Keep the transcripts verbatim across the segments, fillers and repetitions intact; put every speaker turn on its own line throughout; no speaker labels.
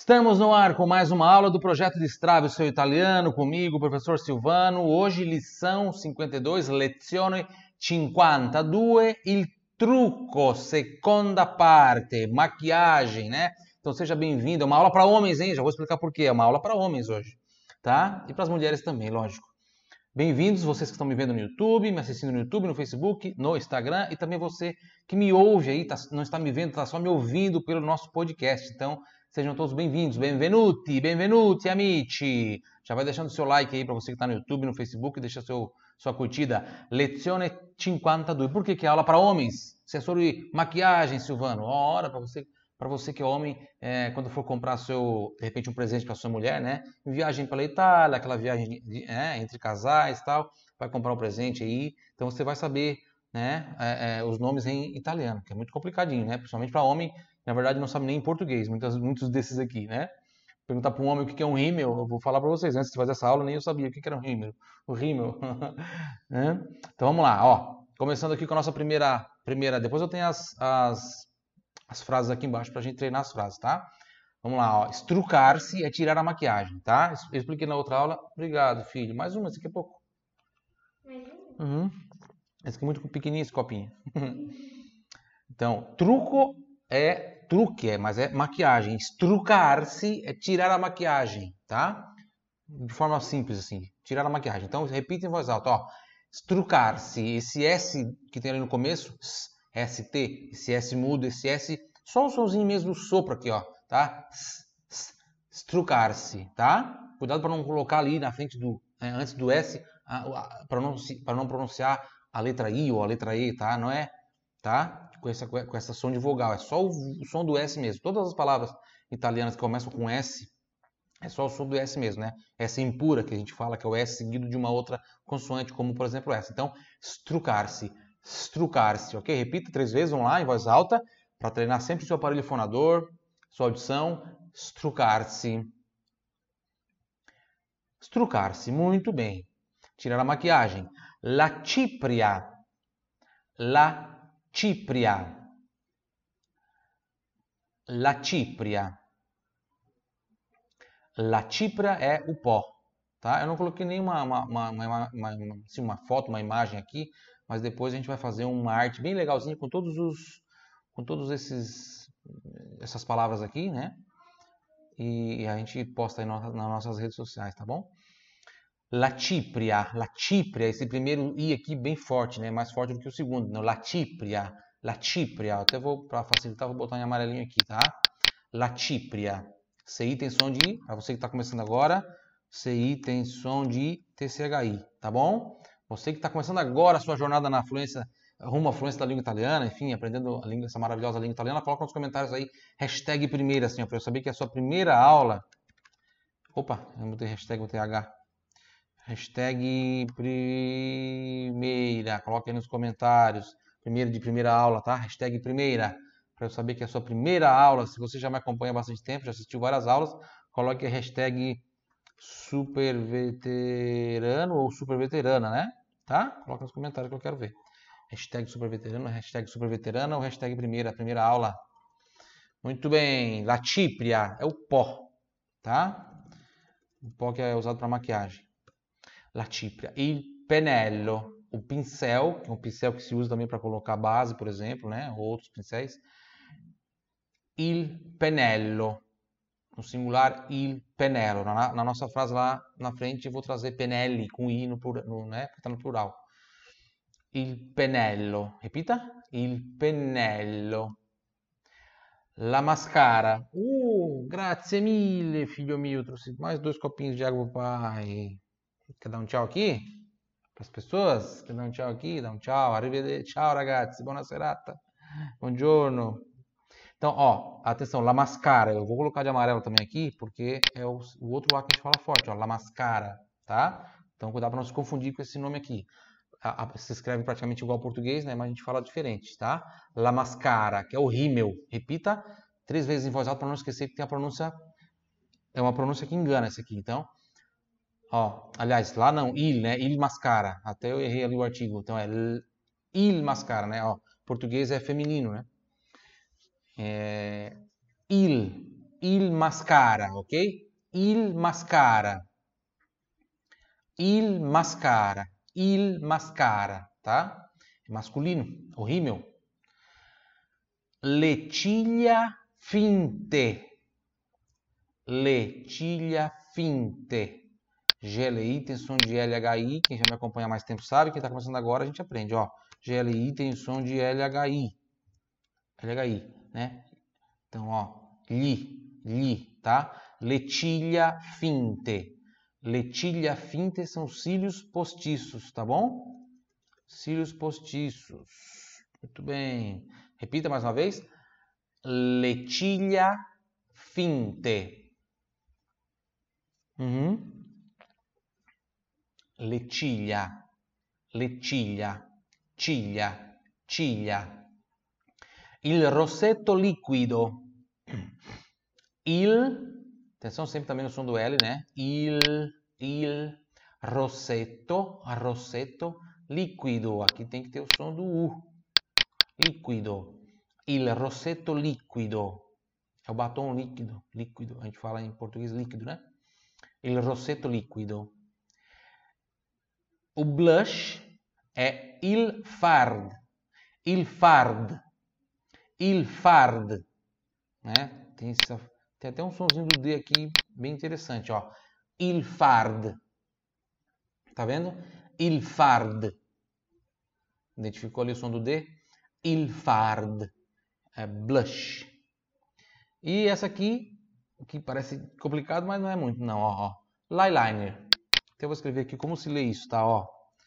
Estamos no ar com mais uma aula do projeto Destrave o seu italiano, comigo, professor Silvano. Hoje, lição cinquenta e dois, lezione cinquantadue, il trucco, seconda parte, maquiagem, né? Então seja bem-vindo. É uma aula para homens, hein? Já vou explicar por quê. É uma aula para homens hoje, tá? E para as mulheres também, lógico. Bem-vindos, vocês que estão me vendo no YouTube, me assistindo no YouTube, no Facebook, no Instagram e também você que me ouve aí, tá, não está me vendo, está só me ouvindo pelo nosso podcast. Então, sejam todos bem-vindos, benvenuti, benvenuti, amici. Já vai deixando seu like aí para você que está no YouTube, no Facebook, deixa seu, sua curtida. Lezione cinquanta e due. Por que que é aula para homens? Se é sobre maquiagem, Silvano, hora para você... Para você que é homem, é, quando for comprar seu, de repente um presente para sua mulher, né? Viagem pela Itália, aquela viagem de, é, entre casais e tal, vai comprar um presente aí, então você vai saber, né, é, é, os nomes em italiano, que é muito complicadinho, né? Principalmente para homem, na verdade não sabe nem em português, muitos, muitos desses aqui, né? Perguntar para um homem o que é um rímel, eu vou falar para vocês, antes de fazer essa aula nem eu sabia o que era um rímel, o rímel, né? Então vamos lá, ó, começando aqui com a nossa primeira, primeira, depois eu tenho as, as as frases aqui embaixo para a gente treinar as frases, tá? Vamos lá, ó. Estrucar-se é tirar a maquiagem, tá? Eu expliquei na outra aula. Obrigado, filho. Mais uma, esse aqui é pouco.
Mais uma?
Uhum. Esse aqui é muito pequenininho, esse copinho. Então, truco é truque, é, mas é maquiagem. Estrucar-se é tirar a maquiagem, tá? De forma simples, assim. Tirar a maquiagem. Então, repita em voz alta, ó. Estrucar-se. Esse S que tem ali no começo, S T, esse S mudo, esse S, só o somzinho mesmo do sopro aqui, ó, tá? Estrucar-se, tá? Cuidado para não colocar ali na frente do, né, antes do S, para não, não pronunciar a letra I ou a letra E, tá? Não é, tá? Com essa, com essa som de vogal, é só o, o som do S mesmo. Todas as palavras italianas que começam com S, é só o som do S mesmo, né? S impura, que a gente fala que é o S seguido de uma outra consoante, como por exemplo essa. Então, estrucar-se. Estrucar-se, ok? Repita três vezes, vamos lá, em voz alta, para treinar sempre o seu aparelho fonador, sua audição. Estrucar-se. Estrucar-se, muito bem. Tirar a maquiagem. La cipria. La cipria. La cipria. La cipria é o pó, tá? Eu não coloquei nenhuma uma, uma, uma, uma, uma, assim, uma foto, uma imagem aqui, mas depois a gente vai fazer uma arte bem legalzinha com todos os, com todos esses, essas palavras aqui, né? E a gente posta aí nas nossas redes sociais, tá bom? La cipria, la cipria, esse primeiro i aqui bem forte, né? Mais forte do que o segundo, não? La cipria, la cipria. Até vou para facilitar, vou botar em amarelinho aqui, tá? La cipria. C I tem som de I, para você que está começando agora, C I tem som de T C H I, tá bom? Você que está começando agora a sua jornada na fluência, rumo à fluência da língua italiana, enfim, aprendendo a língua, essa maravilhosa língua italiana, coloca nos comentários aí, hashtag primeira, assim, para eu saber que é a sua primeira aula. Opa, eu botei hashtag, botei H. Hashtag primeira, coloque aí nos comentários, primeira de primeira aula, tá? Hashtag primeira. Para eu saber que é a sua primeira aula, se você já me acompanha há bastante tempo, já assistiu várias aulas, coloque a hashtag superveterano ou superveterana, né? Tá? Coloque nos comentários que eu quero ver. Hashtag superveterano, hashtag superveterana ou hashtag primeira, primeira aula. Muito bem. La cipria é o pó, tá? O pó que é usado para maquiagem. La cipria. Il pennello, o pincel, que é um pincel que se usa também para colocar base, por exemplo, né? Ou outros pincéis. Il pennello, no singular, il pennello. Na, na nossa frase lá na frente eu vou trazer pennelli com i no, no né? Porque está no plural. Il pennello. Repita. Il pennello. La mascara. Uh, grazie mille, figlio mio. Trouxe mais dois copinhos de água pro pai. Quer dar um tchau aqui? Para as pessoas? Quer dar um tchau aqui? Dá um tchau. Arrivederci. Ciao ragazzi, buona serata. Buongiorno. Então, ó, atenção, la mascara. Eu vou colocar de amarelo também aqui, porque é o, o outro lá que a gente fala forte, ó, la mascara, tá? Então, cuidado para não se confundir com esse nome aqui. A, a, se escreve praticamente igual ao português, né? Mas a gente fala diferente, tá? La mascara, que é o rímel. Repita três vezes em voz alta para não esquecer que tem a pronúncia. É uma pronúncia que engana esse aqui. Então, ó, aliás, lá não, il, né? Il mascara. Até eu errei ali o artigo. Então é il mascara, né? Ó, português é feminino, né? É, il, il mascara, ok? Il mascara. Il mascara. Il mascara, tá? É masculino, o rímel. Le ciglia finte. Le ciglia finte. G L I tem som de L H I. Quem já me acompanha há mais tempo sabe. Quem está começando agora, a gente aprende, ó. G L I tem som de L H I. L H I, né? Então, ó. Li, li, tá? Le ciglia finte. Le ciglia finte são cílios postiços, tá bom? Cílios postiços. Muito bem. Repita mais uma vez. Le ciglia finte. Uhum. Le ciglia. Le ciglia. Ciglia. Ciglia. Il rossetto liquido. Il... Atenção sempre também no som do L, né? Il, il, rossetto, rossetto, liquido. Aqui tem que ter o som do U. Liquido. Il rossetto liquido. É o batom líquido. Líquido. A gente fala em português líquido, né? Il rossetto liquido. O blush é il fard. Il fard. Il fard. Né? Tem essa... Tem até um sonzinho do D aqui bem interessante, ó. Il fard. Tá vendo? Il fard. Identificou ali o som do D? Il fard. É blush. E essa aqui, que parece complicado, mas não é muito, não, ó. ó. Liner. Então eu vou escrever aqui como se lê isso, tá? Ó.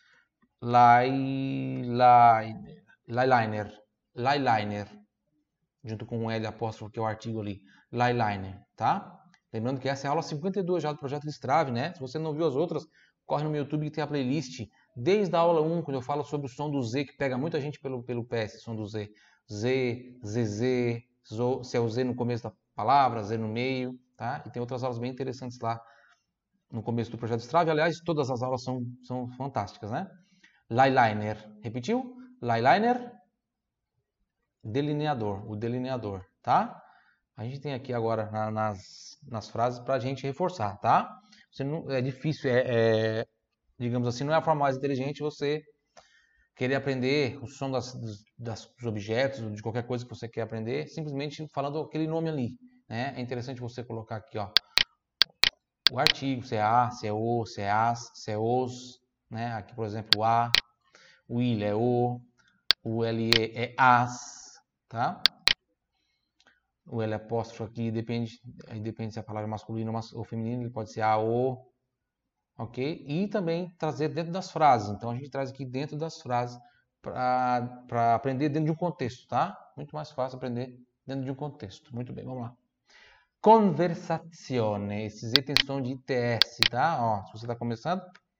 Liner. Liner. Liner. Junto com um L apóstrofo, que é o artigo ali. Liner, tá? Lembrando que essa é a aula cinquenta e dois já do projeto Destrave, né? Se você não viu as outras, corre no meu YouTube que tem a playlist. Desde a aula um, quando eu falo sobre o som do Z, que pega muita gente pelo, pelo pé, esse som do Z. Z, Z Z, zo, se é o Z no começo da palavra, Z no meio, tá? E tem outras aulas bem interessantes lá no começo do projeto Destrave. Aliás, todas as aulas são, são fantásticas, né? Liner. Repetiu? Liner. Delineador, o delineador, tá? A gente tem aqui agora na, nas, nas frases para a gente reforçar, tá? Você não, é difícil, é, é, digamos assim, não é a forma mais inteligente você querer aprender o som das, das, dos objetos, de qualquer coisa que você quer aprender, simplesmente falando aquele nome ali, né? É interessante você colocar aqui, ó, o artigo, se é a, se é o, se é as, se é os, né? Aqui, por exemplo, o a, o il é o, o L E é as, tá? O L apóstrofo aqui depende, aí depende se a palavra é masculino ou feminino, ele pode ser a, o, ok? E também trazer dentro das frases. Então a gente traz aqui dentro das frases para aprender dentro de um contexto, tá? Muito mais fácil aprender dentro de um contexto. Muito bem, vamos lá. Conversazione. Esse Z tem som de I T S, tá? Ó, se você está começando.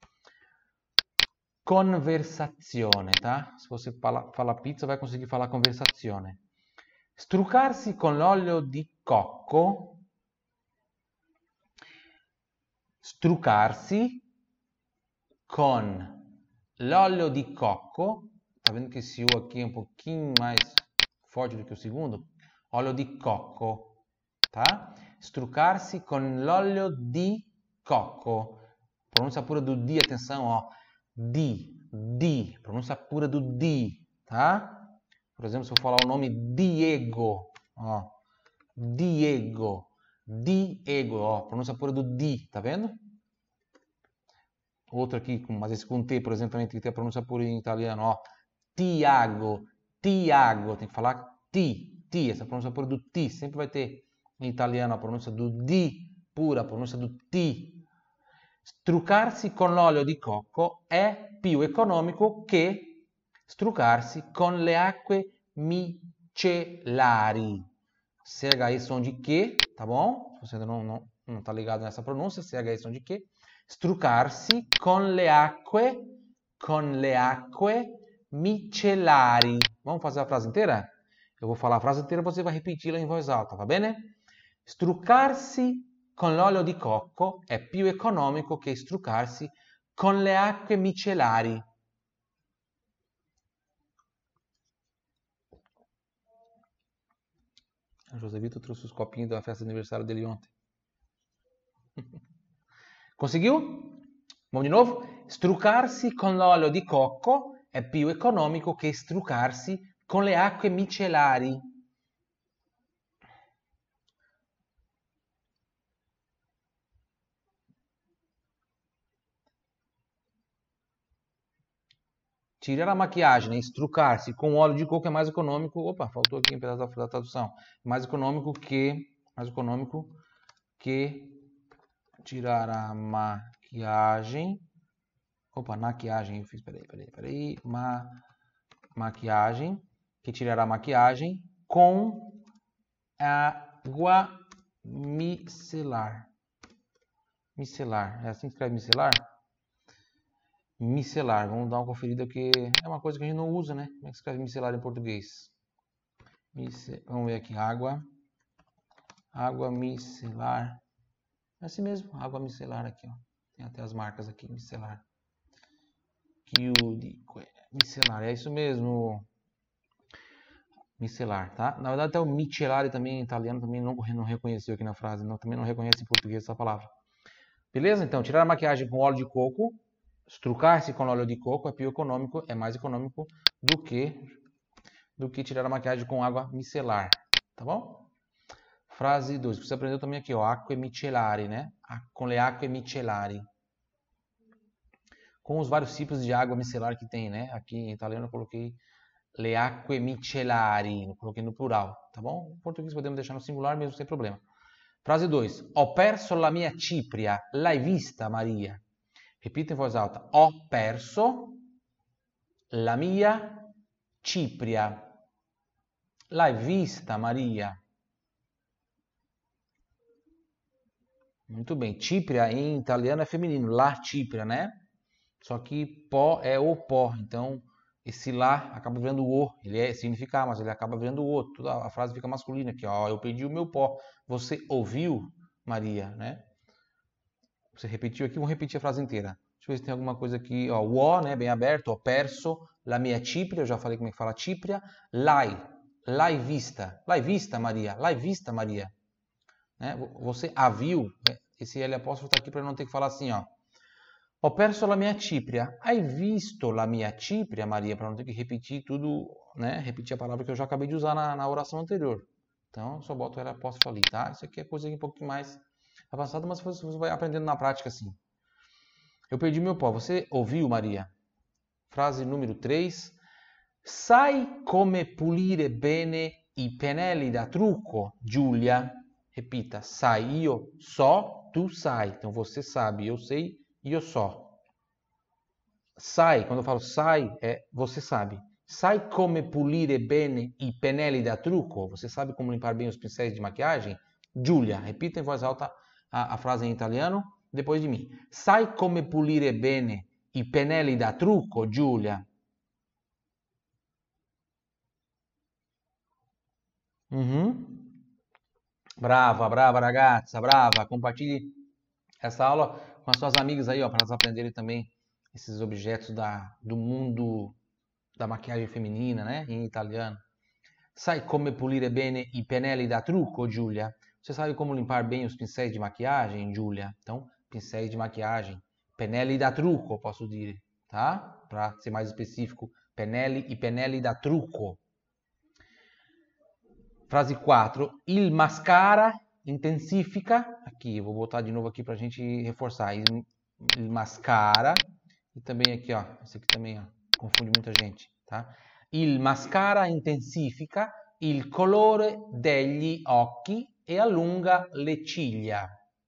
Conversazione, tá? Se você fala, fala pizza, vai conseguir falar conversazione. Struccarsi con l'olio di cocco. Struccarsi con l'olio di cocco. Tá vendo que esse U aqui é um pouquinho mais forte do que o segundo? Óleo di cocco, tá? Struccarsi con l'olio di cocco. Pronúncia pura do di, atenção, ó. Di, di. Pronúncia pura do di, tá? Por exemplo, se eu falar o nome Diego, ó. Diego. Diego, ó. Pronúncia pura do di, tá vendo? Outro aqui, mas esse com T, por exemplo, também tem que ter a pronúncia pura em italiano, ó. Tiago, Tiago. Tem que falar ti, ti. Essa pronúncia pura do ti. Sempre vai ter em italiano a pronúncia do di pura, a pronúncia do ti. Struccarsi con l'olio di cocco è più economico che struccarsi con le acque micellari. C H I som de que, tá bom? Se você ainda não, não, não tá ligado nessa pronúncia, C H I som de que. Struccarsi con le acque, con le acque micellari. Vamos fazer a frase inteira? Eu vou falar a frase inteira e você vai repeti-la em voz alta, va bene? Struccarsi con l'olio di cocco è più economico che struccarsi con le acque micellari. São José Vitor trouxe os copinhos da festa de aniversário dele ontem. Conseguiu? Vamos de novo? Struccarsi con l'olio di cocco è più economico che struccarsi con le acque micellari. Tirar a maquiagem e struccar-se com óleo de coco é mais econômico. Opa, faltou aqui um pedaço da tradução. Mais econômico que mais econômico que tirar a maquiagem. Opa, maquiagem eu fiz. Peraí, peraí, peraí. Ma, maquiagem. Que tirar a maquiagem com água micelar. Micelar. É assim que escreve micelar? Micelar. Vamos dar uma conferida que é uma coisa que a gente não usa, né? Como é que escreve micelar em português? Mice... Vamos ver aqui. Água. Água micelar. É assim mesmo. Água micelar aqui, ó. Tem até as marcas aqui. Micelar. Micelar. É isso mesmo. Micelar, tá? Na verdade até o micellare também em italiano também não, não reconheceu aqui na frase. Não, também não reconhece em português essa palavra. Beleza? Então, tirar a maquiagem com óleo de coco. Struccar-se com óleo de coco é più econômico, é mais econômico do que do que tirar a maquiagem com água micelar, tá bom? Frase dois. Você aprendeu também aqui, ó, acque micellari, né? Com le acque micellari. Com os vários tipos de água micelar que tem, né? Aqui em italiano eu coloquei le acque micellari, eu coloquei no plural, tá bom? Em português podemos deixar no singular mesmo sem problema. Frase dois. Ho perso la mia cipria, l'hai vista, Maria? Repita em voz alta. Ho perso la mia cipria. L'hai vista, Maria? Muito bem. Cipria em italiano é feminino. La cipria, né? Só que pó é o pó. Então, esse lá acaba virando o. Ele é, significa, mas ele acaba virando o o. Toda a frase fica masculina aqui. Ó, eu perdi o meu pó. Você ouviu, Maria, né? Você repetiu aqui, vamos repetir a frase inteira. Deixa eu ver se tem alguma coisa aqui. Ó, o O, né, bem aberto. Ho perso la mia cipria. Eu já falei como é que fala cipria. L'hai. L'hai vista. L'hai vista, Maria. L'hai vista, Maria. Né? Você a viu. Né? Esse L apóstrofo está aqui para não ter que falar assim, ó. Ho perso la mia cipria. Hai visto la mia cipria, Maria? Para não ter que repetir tudo, né? Repetir a palavra que eu já acabei de usar na, na oração anterior. Então, só boto o L apóstrofo ali, tá? Isso aqui é coisa um pouquinho mais avançada, mas você vai aprendendo na prática assim. Eu perdi meu pó. Você ouviu, Maria? Frase número três. Sai come pulire bene i pennelli da trucco, Giulia? Repita. Sai, io so, tu sai. Então, você sabe, eu sei, io so. Sai, quando eu falo sai, é você sabe. Sai come pulire bene i pennelli da trucco? Você sabe como limpar bem os pincéis de maquiagem? Giulia. Repita em voz alta a, a frase em italiano. Depois de mim. Sai come pulire bene i pennelli da trucco, Giulia? Uhum. Brava, brava ragazza, brava. Compartilhe essa aula com as suas amigas aí, ó, para elas aprenderem também esses objetos da, do mundo da maquiagem feminina, né, em italiano. Sai come pulire bene i pennelli da trucco, Giulia? Você sabe como limpar bem os pincéis de maquiagem, Giulia? Então, pincéis de maquiagem. Pennelli da trucco, posso dizer, tá? Para ser mais específico, pennelli e pennelli da trucco. Frase quatro. Il mascara intensifica. Aqui, eu vou botar de novo aqui para a gente reforçar. Il, il mascara. E também aqui, ó. Esse aqui também, ó, confunde muita gente, tá? Il mascara intensifica il colore degli occhi e allunga le ciglia.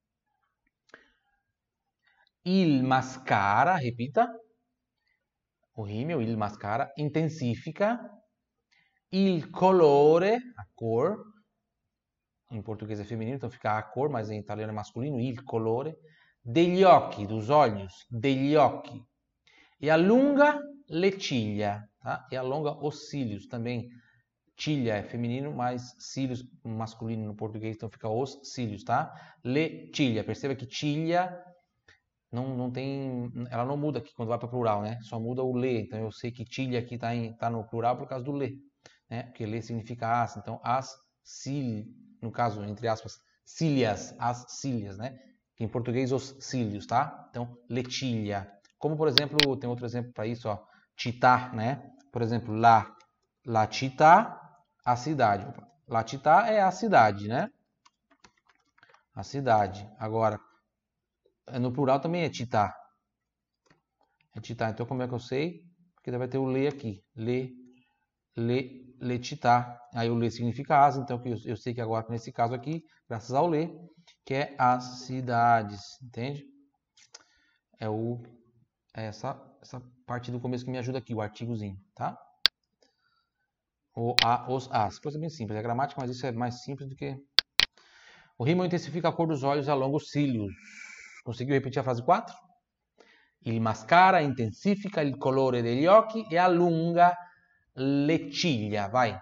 Il mascara, repita, o rímel, il mascara, intensifica il colore, a cor, em português é feminino, então fica a cor, mas em italiano é masculino, il colore, degli occhi, dos olhos, degli occhi, e allunga le ciglia, tá? E alonga os cílios, também ciglia é feminino, mas cílios masculino no português, então fica os cílios, tá? Le ciglia, perceba que ciglia Não, não tem, ela não muda aqui quando vai para plural, né? Só muda o le. Então eu sei que ciglia aqui está tá no plural por causa do le, né? Porque le significa as. Então as cílios, no caso, entre aspas, cílias, as cílias, né? Que em português, os cílios, tá? Então, letilha. Como, por exemplo, tem outro exemplo para isso, ó, città, né? Por exemplo, la, la città, a cidade. Opa. La città é a cidade, né? A cidade. Agora, no plural também é città. É città. Então, como é que eu sei? Porque vai ter o le aqui. Le, le, le città. Aí o le significa as, então eu, eu sei que agora, nesse caso aqui, graças ao le, que é as cidades, entende? É, o, é essa, essa parte do começo que me ajuda aqui, o artigozinho, tá? O, a, os, as. Coisa bem simples, é gramática, mas isso é mais simples do que... O rímel intensifica a cor dos olhos e alonga os cílios. Conseguiu repetir a frase quatro? Il mascara intensifica il colore degli occhi e allunga le ciglia. Vai.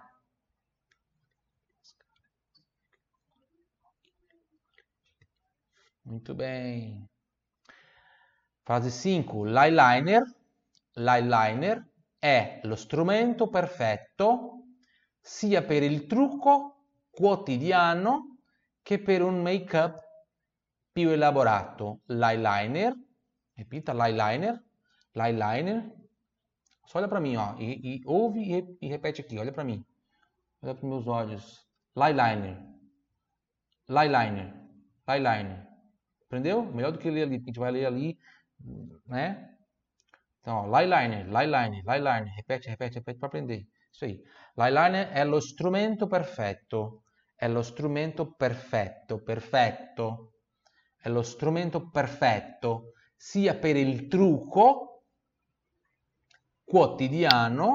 Muito bem. Frase cinco. L'eyeliner, l'eyeliner è lo strumento perfetto sia per il trucco quotidiano che per un make-up più elaborato. L'eyeliner, repita, l'eyeliner, l'eyeliner. Só olha para mim, ó, e, e ouve e, e repete aqui, olha para mim. Olha para meus olhos. L'eyeliner, l'eyeliner, l'eyeliner. Aprendeu? Melhor do que ler ali, porque a gente vai ler ali, né? Então, ó, l'eyeliner, l'eyeliner, l'eyeliner. Repete, repete, repete para aprender. Isso aí. L'eyeliner è lo strumento perfetto. È lo strumento perfetto, perfetto. È lo strumento perfetto sia per il trucco quotidiano.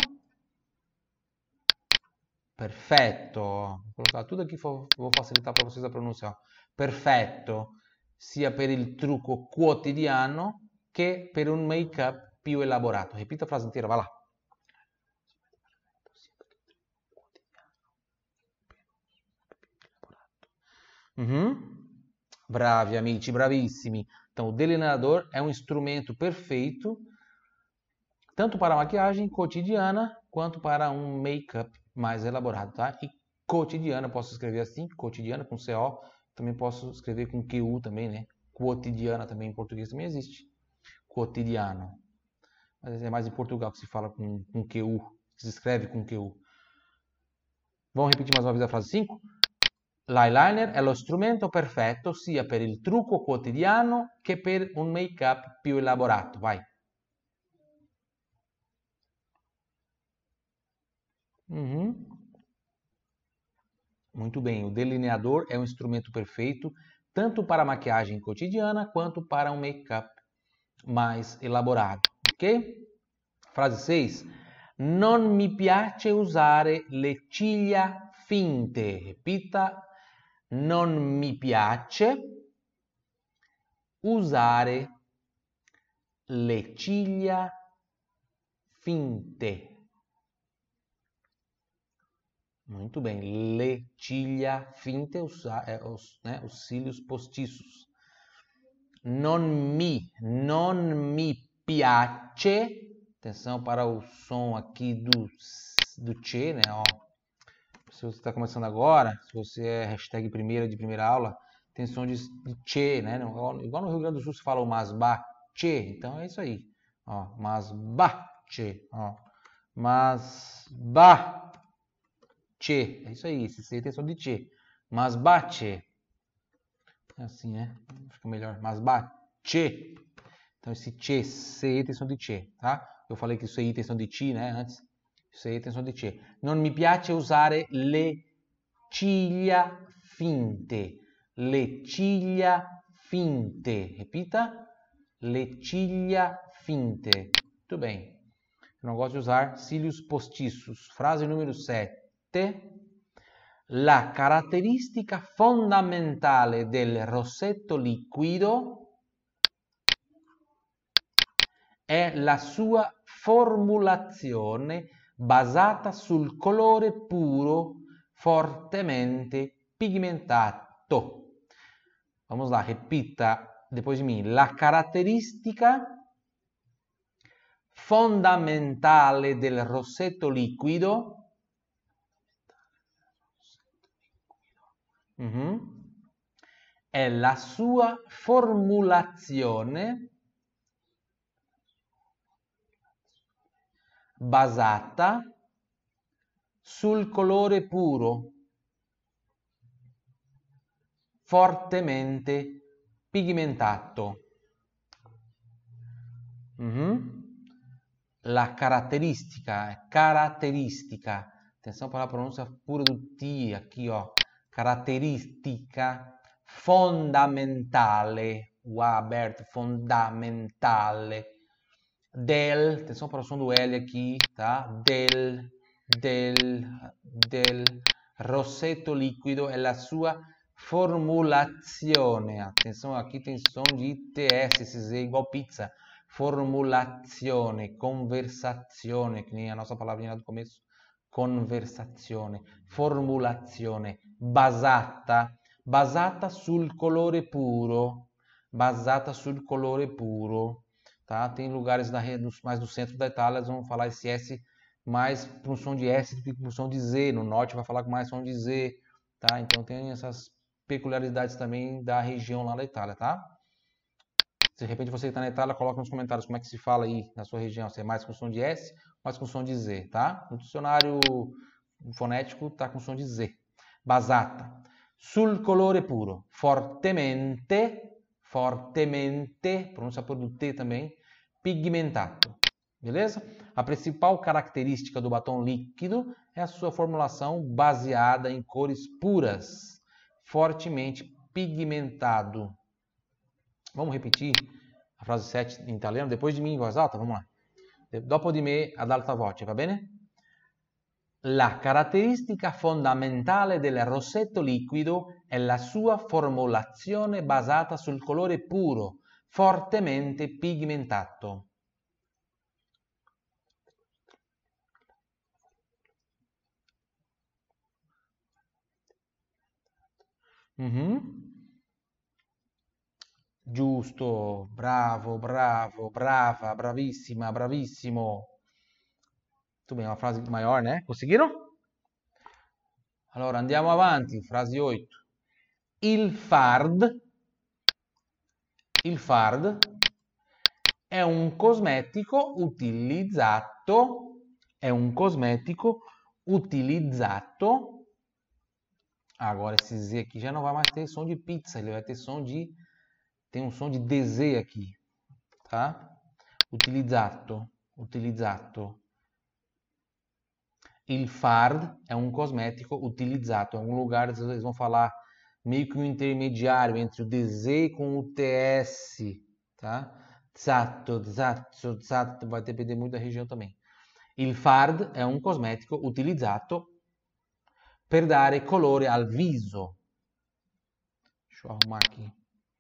Perfetto. Vou colocar tudo aqui, vou facilitar para vocês a pronúncia. Perfetto sia per il trucco quotidiano che per un make-up più elaborato. Repita a frase inteira, vai lá. Uhum. Bravi, amici, bravissimi. Então, o delineador é um instrumento perfeito, tanto para a maquiagem cotidiana, quanto para um make-up mais elaborado, tá? E cotidiana, posso escrever assim, cotidiana, com C O, também posso escrever com Q U também, né? Cotidiana também, em português também existe. Cotidiano. Mas é mais em Portugal que se fala com, com Q U, que se escreve com Q U. Vamos repetir mais uma vez a frase cinco? L'eyeliner è lo strumento perfetto sia per il trucco quotidiano che per un make-up più elaborato. Vai. Uhum. Muito bem. O delineador é um instrumento perfeito tanto para a maquiagem cotidiana quanto para um make-up mais elaborado. Ok? Frase seis. Non mi piace usare le ciglia finte. Repita. Non mi piace usare le ciglia finte. Muito bem. Le ciglia finte, os, é, os, né, os cílios postiços. Non mi, non mi piace. Atenção para o som aqui do, do che, né? Ó. Se você está começando agora, se você é hashtag primeira de primeira aula, tem som de, de che, né? Igual no Rio Grande do Sul se fala o masba, che. Então é isso aí. Ó, masba, che. Ó, masba, che. É isso aí. Esse C tem som de che. Masba, che. É assim, né? Fica melhor. Masba, che. Então esse che, C tem som de che, tá? Eu falei que isso aí tem som de ti, né? Antes. Se tem som di C. Non mi piace usare le ciglia finte. Le ciglia finte. Repita. Le ciglia finte. Muito bem. Eu não gosto de usar cílios postiços. Frase número sete. La caratteristica fondamentale del rossetto liquido è la sua formulazione basata sul colore puro fortemente pigmentato. Vamos lá, repita depois de mim. La caratteristica fondamentale del rossetto liquido Mhm. È la sua formulazione basata sul colore puro, fortemente pigmentato. Mhm. La caratteristica, caratteristica, atenção para a pronúncia pura do T aqui, ó. Caratteristica fondamentale, o A aberto, fondamentale, del, atenção para o som do L aqui, tá? Del, del, del rossetto liquido e la sua formulazione. Atenção, aqui tem som de T S, esse Z igual pizza. Formulazione, conversazione, que nem a nossa palavrinha do começo. Conversazione, formulazione, basata, basata sul colore puro, basata sul colore puro, tá? Tem lugares da, mais do centro da Itália, eles vão falar esse S mais para um som de S do que para um som de Z, no norte vai falar com mais som de Z, tá? Então tem essas peculiaridades também da região lá da Itália, tá? Se de repente você está na Itália, coloca nos comentários como é que se fala aí na sua região, se é mais com som de S, mais com som de Z, tá? No dicionário fonético está com som de Z. Basata. Sul colore puro. Fortemente, fortemente, pronúncia por do T também, pigmentato. Beleza? A principal característica do batom líquido é a sua formulação baseada em cores puras, fortemente pigmentado. Vamos repetir a frase sete em italiano depois de mim em voz alta? Vamos lá. Dopo di me ad alta voce, va bene? La caratteristica fondamentale del rossetto liquido è la sua formulazione basata sul colore puro, fortemente pigmentato. Mm-hmm. Giusto, bravo, bravo, brava, bravissima, bravissimo. Muito bem, uma frase maior, né? Conseguiram? Allora, andiamo avanti, frase oito. Il fard, il fard è un cosmetico utilizzato, è un cosmetico utilizzato. Agora esse Z aqui já não vai mais ter som de pizza, ele vai ter som de, tem um som de D Z aqui, tá? Utilizzato, utilizzato. Il fard é um cosmético utilizzato, é um lugar, eles vão falar meio que um intermediário entre o D Z com o T S, tá? Zatto, zatto, zatto, vai depender muito da região também. Il fard è un cosmetico utilizzato per dare colore al viso. Deixa eu arrumar aqui.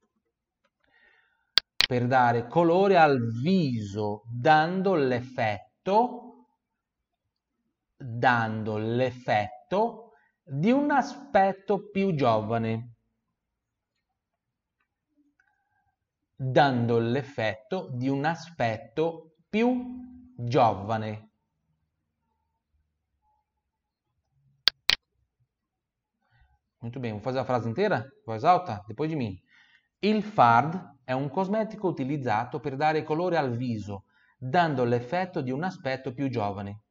Per dare colore al viso, dando l'effetto dando l'effetto di un aspetto più giovane. Dando l'effetto di un aspetto più giovane. Muito bem, vou fazer a frase inteira? Voz alta? Depois de mim. Il fard è un cosmetico utilizzato per dare colore al viso, dando l'effetto di un aspetto più giovane.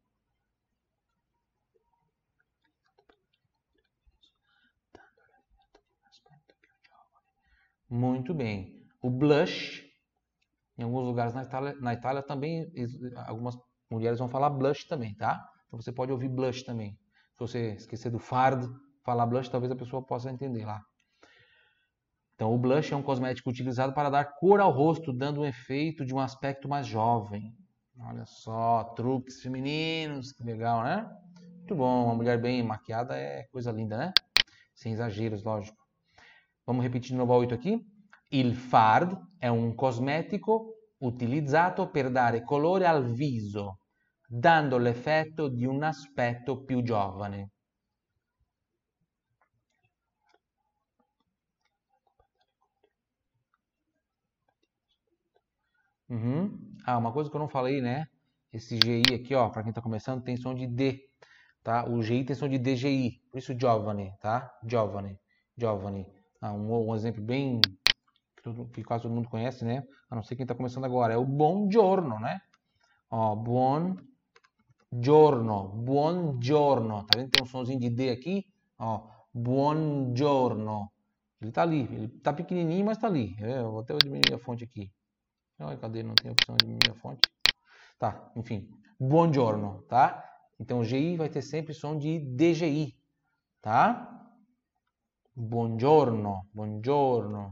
Muito bem. O blush, em alguns lugares na Itália, na Itália também, algumas mulheres vão falar blush também, tá? Então você pode ouvir blush também. Se você esquecer do fard, falar blush, talvez a pessoa possa entender lá. Então, o blush é um cosmético utilizado para dar cor ao rosto, dando um efeito de um aspecto mais jovem. Olha só, truques femininos, que legal, né? Muito bom, uma mulher bem maquiada é coisa linda, né? Sem exageros, lógico. Vamos repetir de novo a oito aqui. Il fard è un cosmetico utilizzato per dare colore al viso, dando l'effetto di un aspetto più giovane. Uhum. Ah, uma coisa que eu não falei, né? Esse G I aqui, ó, para quem tá começando, tem som de D, tá? O G I tem som de D G I, por isso giovane, tá? Giovane. giovane. Ah, um, um exemplo bem que, todo, que quase todo mundo conhece, né? A não ser quem está começando agora. É o buongiorno, né? Ó, buongiorno, buongiorno. Tá vendo? Tem um sonzinho de D aqui. Ó, buongiorno. Ele tá ali. Ele tá pequenininho, mas tá ali. Eu vou até diminuir a fonte aqui. Ai, cadê? Não tem opção de diminuir a fonte. Tá, enfim. Buongiorno, tá? Então, o G I vai ter sempre som de D G I, tá? Buongiorno, buongiorno,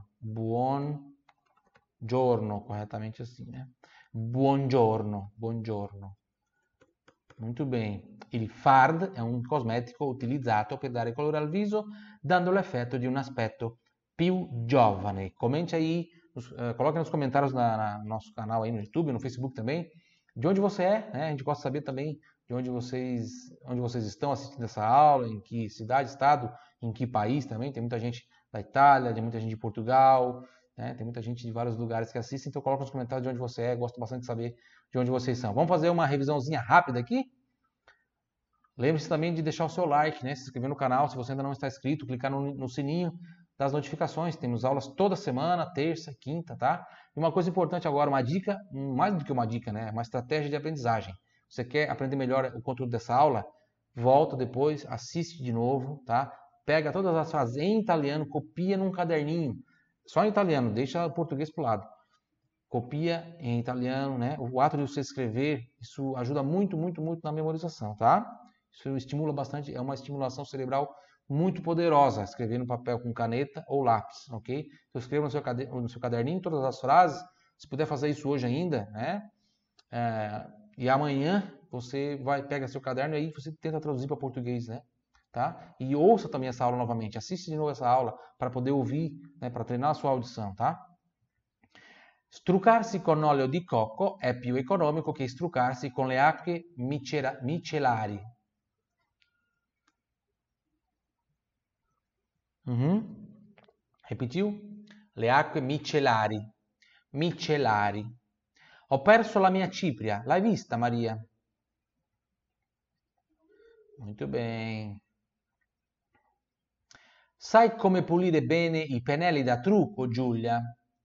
buongiorno, corretamente assim, né? Buongiorno, buongiorno. Muito bem. Il fard è un cosmetico utilizzato per dare colore al viso, dando l'effetto di un aspetto più giovane. Comente aí, nos, uh, coloque nos comentários na, na, no nosso canal aí no YouTube, no Facebook também, de onde você é, né? A gente gosta de saber também de onde vocês, onde vocês estão assistindo essa aula, em que cidade, estado, em que país também. Tem muita gente da Itália, tem muita gente de Portugal, né? Tem muita gente de vários lugares que assistem, então coloca nos comentários de onde você é, gosto bastante de saber de onde vocês são. Vamos fazer uma revisãozinha rápida aqui? Lembre-se também de deixar o seu like, né? Se inscrever no canal, se você ainda não está inscrito, clicar no, no sininho das notificações. Temos aulas toda semana, terça, quinta, tá? E uma coisa importante agora, uma dica, mais do que uma dica, né? Uma estratégia de aprendizagem. Você quer aprender melhor o conteúdo dessa aula? Volta depois, assiste de novo, tá? Pega todas as frases em italiano, copia num caderninho. Só em italiano, deixa o português pro lado. Copia em italiano, né? O ato de você escrever, isso ajuda muito, muito, muito na memorização, tá? Isso estimula bastante, é uma estimulação cerebral muito poderosa, escrever no papel com caneta ou lápis, ok? Então escreva no seu, no seu caderninho todas as frases, se puder fazer isso hoje ainda, né? É, e amanhã você vai, pega seu caderno e aí você tenta traduzir para português, né? Tá? E ouça também essa aula novamente, assiste de novo essa aula para poder ouvir, né? Para treinar a sua audição, tá? Struccarsi con olio di cocco è più economico che struccarsi con le acque micellari. Uhum. Repetiu? Le acque micellari. Micellari. Ho perso la mia cipria. L'hai vista, Maria? Muito bem. Sai come pulire bene i pennelli da trucco, Giulia?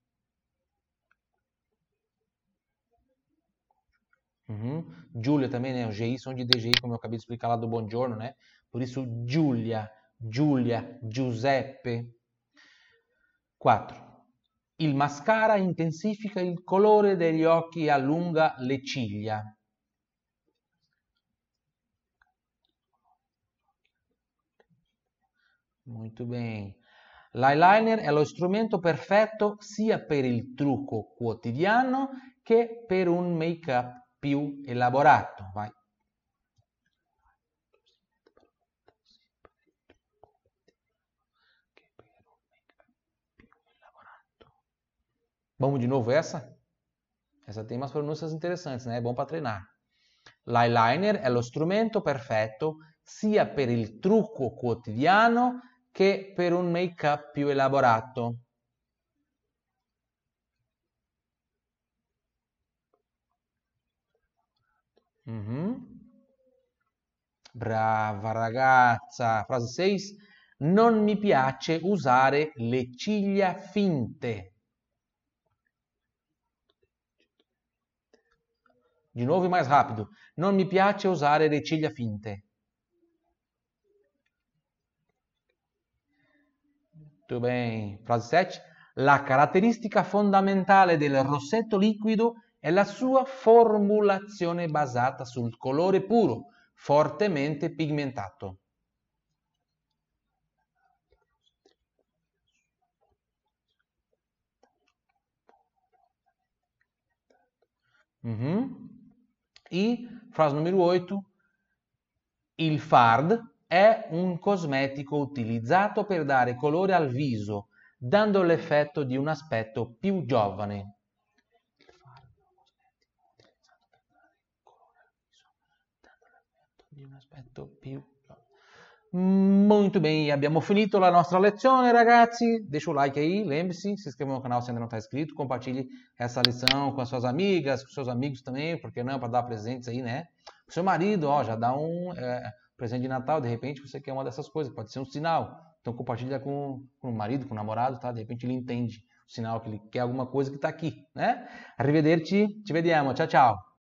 Uhum. Giulia também, né? O G I som de D G I, como eu acabei de explicar lá do Buongiorno, né? Por isso, Giulia, Giulia, Giuseppe. quattro. Il mascara intensifica il colore degli occhi e allunga le ciglia. Muito bem. L'eyeliner è lo strumento perfetto sia per il trucco quotidiano che per un make-up più elaborato. Vai. Vamos de novo essa? Essa tem umas pronúncias interessantes, né? É bom para treinar. L'eyeliner è lo strumento perfetto sia per il trucco quotidiano che per un make-up più elaborato. Mm-hmm. Brava ragazza. Frase sei. Non mi piace usare le ciglia finte. Di nuovo mais rápido. Non mi piace usare le ciglia finte. Muito bem. Frase sette. La caratteristica fondamentale del rossetto liquido è la sua formulazione basata sul colore puro, fortemente pigmentato. Uhum. E frase número oito. Il fard è un cosmetico utilizzato per dare colore al viso, dando l'effetto di un aspetto più giovane. Il fard è un cosmetico utilizzato per dare colore al viso, dando l'effetto di un aspetto più giovane. Muito bem, abbiamo finito la nostra lezione, ragazzi. Deixa o like aí, lembre-se, se inscreva no canal se ainda não está inscrito, compartilhe essa lição com as suas amigas, com seus amigos também, porque não, para dar presentes aí, né? Pro seu marido, ó, já dá um é, presente de Natal, de repente você quer uma dessas coisas, pode ser um sinal, Então compartilha com, com o marido, com o namorado, tá? De repente ele entende o sinal que ele quer alguma coisa que está aqui, né? Arrivederci, ci vediamo, tchau, tchau.